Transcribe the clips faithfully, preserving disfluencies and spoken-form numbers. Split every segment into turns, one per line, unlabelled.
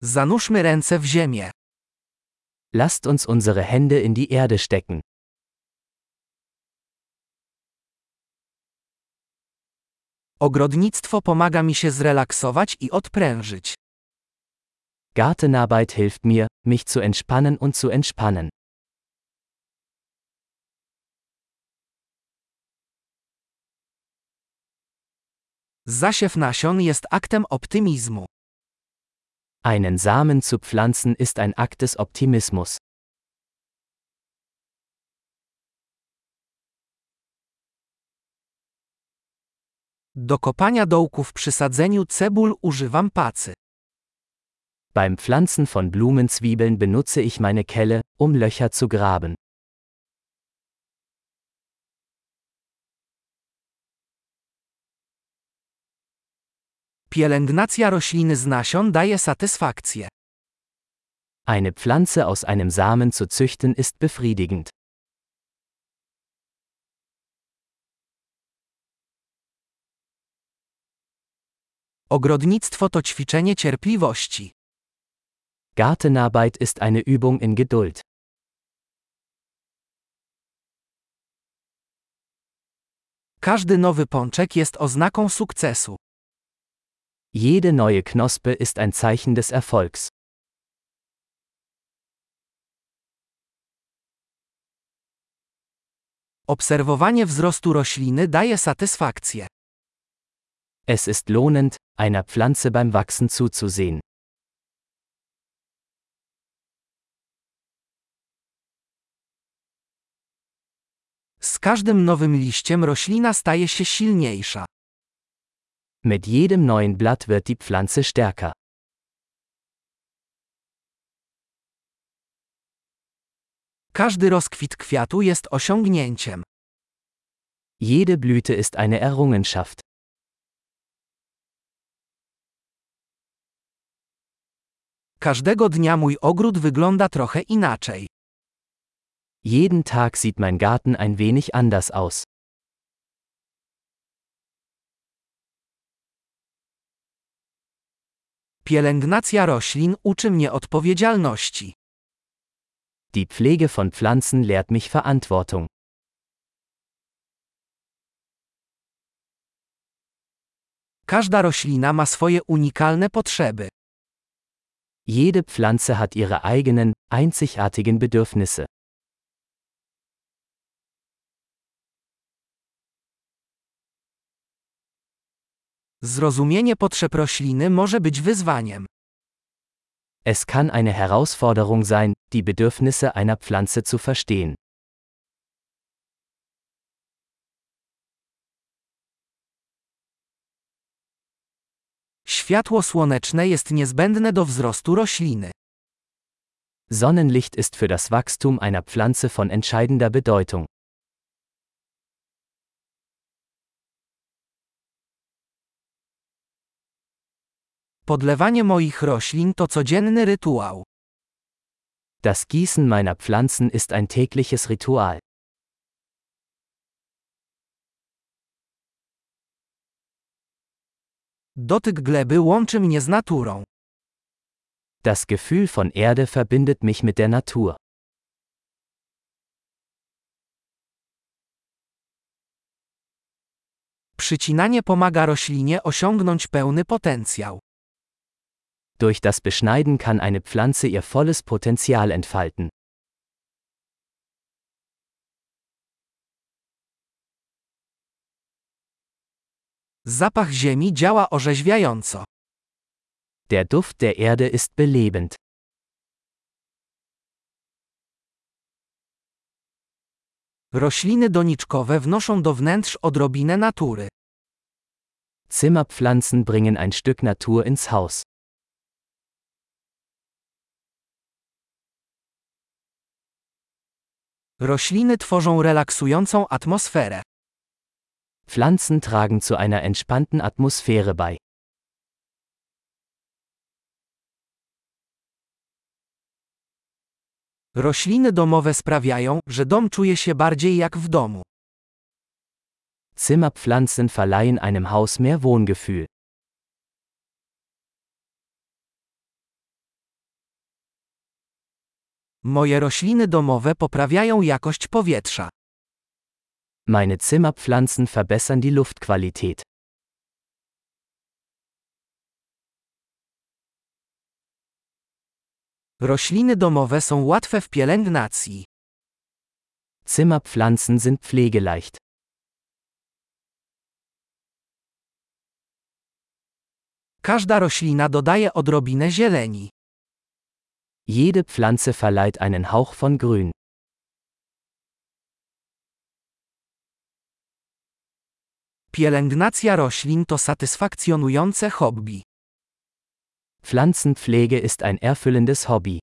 Zanurzmy ręce w ziemię.
Lasst uns unsere Hände in die Erde stecken.
Ogrodnictwo pomaga mi się zrelaksować i odprężyć.
Gartenarbeit hilft mir, mich zu entspannen und zu entspannen.
Zasiew nasion jest aktem optymizmu.
Einen Samen zu pflanzen ist ein Akt des Optimismus.
Do kopania dołków przy sadzeniu cebul używam pacy.
Beim Pflanzen von Blumenzwiebeln benutze ich meine Kelle, um Löcher zu graben.
Pielęgnacja rośliny z nasion daje satysfakcję.
Eine Pflanze aus einem Samen zu züchten ist befriedigend.
Ogrodnictwo to ćwiczenie cierpliwości.
Gartenarbeit ist eine Übung in Geduld.
Każdy nowy pączek jest oznaką sukcesu.
Jede neue Knospe ist ein Zeichen des Erfolgs.
Obserwowanie wzrostu rośliny daje satysfakcję.
Es ist lohnend, einer Pflanze beim Wachsen zuzusehen.
Z każdym nowym liściem roślina staje się silniejsza.
Mit jedem neuen Blatt wird die Pflanze stärker.
Każdy rozkwit kwiatu jest osiągnięciem.
Jede Blüte ist eine Errungenschaft.
Każdego dnia mój ogród wygląda trochę inaczej.
Jeden Tag sieht mein Garten ein wenig anders aus.
Pielęgnacja roślin uczy mnie odpowiedzialności.
Die Pflege von Pflanzen lehrt mich Verantwortung.
Każda roślina ma swoje unikalne potrzeby.
Jede Pflanze hat ihre eigenen, einzigartigen Bedürfnisse.
Zrozumienie potrzeb rośliny może być wyzwaniem.
Es kann eine Herausforderung sein, die Bedürfnisse einer Pflanze zu verstehen.
Światło słoneczne jest niezbędne do wzrostu rośliny.
Sonnenlicht ist für das Wachstum einer Pflanze von entscheidender Bedeutung.
Podlewanie moich roślin to codzienny rytuał.
Das Gießen meiner Pflanzen ist ein tägliches Ritual.
Dotyk gleby łączy mnie z naturą.
Das Gefühl von Erde verbindet mich mit der Natur.
Przycinanie pomaga roślinie osiągnąć pełny potencjał.
Durch das Beschneiden kann eine Pflanze ihr volles Potenzial entfalten.
Zapach ziemi działa orzeźwiająco.
Der Duft der Erde ist belebend.
Rośliny doniczkowe wnoszą do wnętrz odrobinę natury.
Zimmerpflanzen bringen ein Stück Natur ins Haus.
Rośliny tworzą relaksującą atmosferę.
Pflanzen tragen zu einer entspannten Atmosphäre bei.
Rośliny domowe sprawiają, że dom czuje się bardziej jak w domu.
Zimmerpflanzen verleihen einem Haus mehr Wohngefühl.
Moje rośliny domowe poprawiają jakość powietrza.
Meine Zimmerpflanzen verbessern die Luftqualität.
Rośliny domowe są łatwe w pielęgnacji.
Zimmerpflanzen sind pflegeleicht.
Każda roślina dodaje odrobinę zieleni.
Jede Pflanze verleiht einen Hauch von Grün.
Pielęgnacja roślin to satysfakcjonujące hobby.
Pflanzenpflege ist ein erfüllendes Hobby.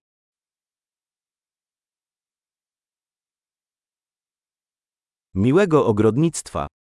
Miłego ogrodnictwa.